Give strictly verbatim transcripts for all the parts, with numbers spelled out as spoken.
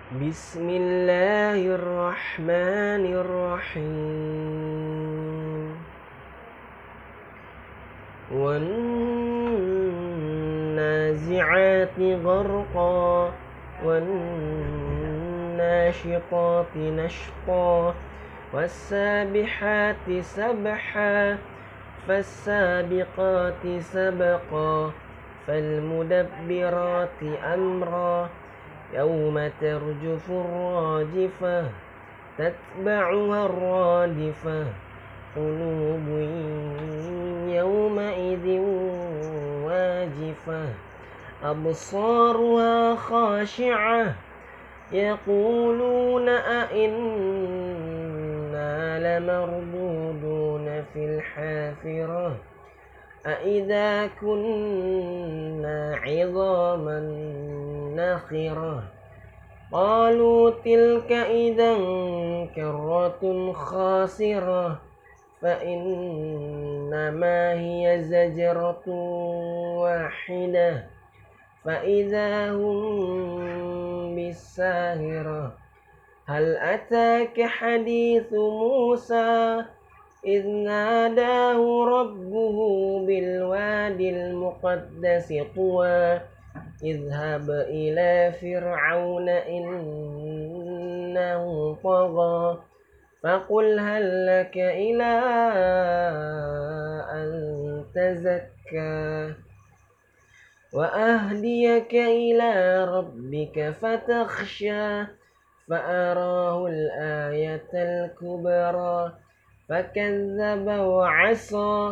Bismillahirrahmanirrahim. Wan-nazi'ati gharqa wan-nashiqati nashqa was-sabihati sabha fas-sabiqati sabqa fal-mudabbirati amra yawma tarjufu ar-rajifah tatba'uha ar-radifah qulubun yawma idhin wajifah absaruha khashi'ah yaquluna a'inna lamarduduna fil hafirah أَإِذَا كُنَّا عِظَامًا نَخِرَةً قَالُوا تِلْكَ إِذًا كَرَّةٌ خَاسِرَةٌ فَإِنَّمَا هِيَ زَجْرَةٌ وَاحِدَةٌ فَإِذَا هُمْ بِالسَّاهِرَةِ هَلْ أَتَاكَ حَدِيثُ مُوسَى إذ ناداه ربه بالواد المقدس طوى اذهب إلى فرعون إنه طغى فقل هل لك إلى أن تزكى وأهديك إلى ربك فتخشى فأراه الآية الكبرى فكذب وعصى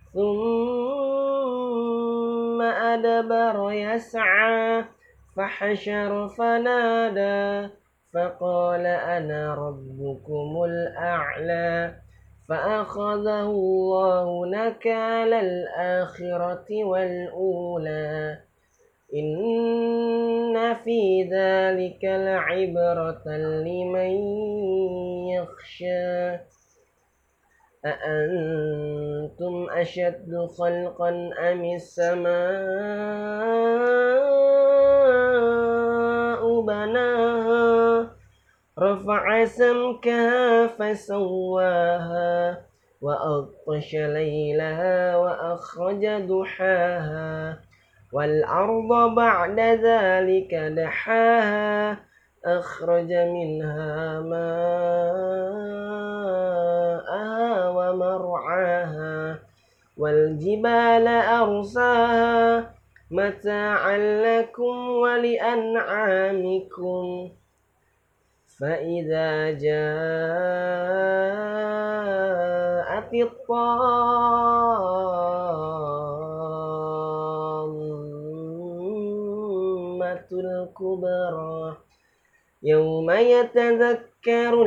ثم أدبر يسعى فحشر فنادى فقال أنا ربكم الأعلى فأخذه الله نكال الآخرة والأولى إن في ذلك لعبرة لمن يخشى أأنتم أشد خلقا أم السماء بناها رفع سمكها فسواها وأغطش ليلها وأخرج ضحاها والأرض بعد ذلك دحاها أخرج منها ماءها ومرعاها والجبال أرساها متاعا لكم ولأنعامكم فإذا جاءت الطامة الكبرى يوم يتذكر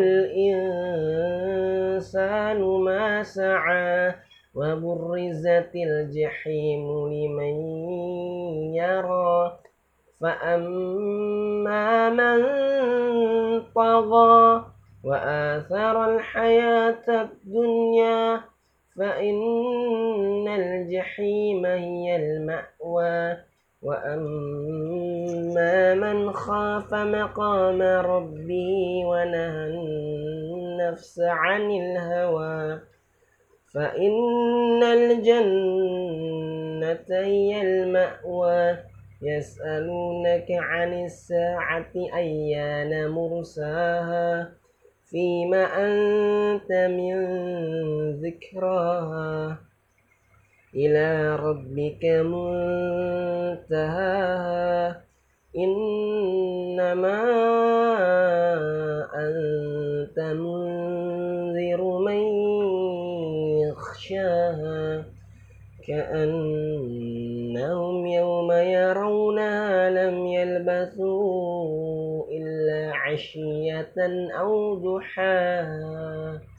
الإنسان ما سعى وبرزت الجحيم لمن يرى فأما من طغى وآثر الحياة الدنيا فإن الجحيم هي المأوى وأما من خاف مقام ربه ونهى النفس عن الهوى فإن الجنة هي المأوى يسألونك عن الساعة أيان مرساها فيما أنت من ذكراها إلى ربك منتهاها إنما أنت منذر من يخشاها كأنهم يوم يرونها لم يلبثوا إلا عشية أو ضحاها